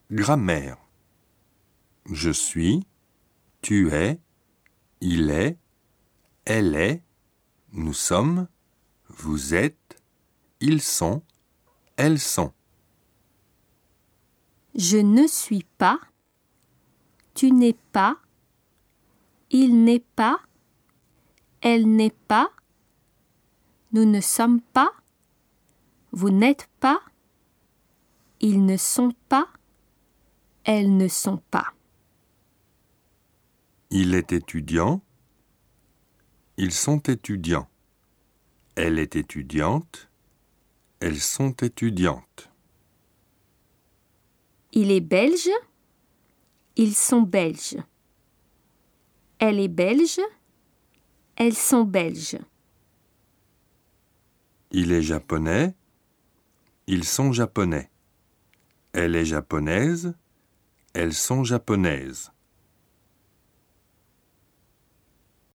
Grammaire. Je suis, tu es, il est, elle est, nous sommes, vous êtes, ils sont, elles sont. Je ne suis pas, tu n'es pas, il n'est pas, elle n'est pas, nous ne sommes pas, vous n'êtes pas, ils ne sont pas, elles ne sont pas. Il est étudiant, ils sont étudiants. Elle est étudiante, elles sont étudiantes. Il est belge, ils sont belges. Elle est belge, elles sont belges. Il est japonais, ils sont japonais. Elle est japonaise, elles sont japonaises.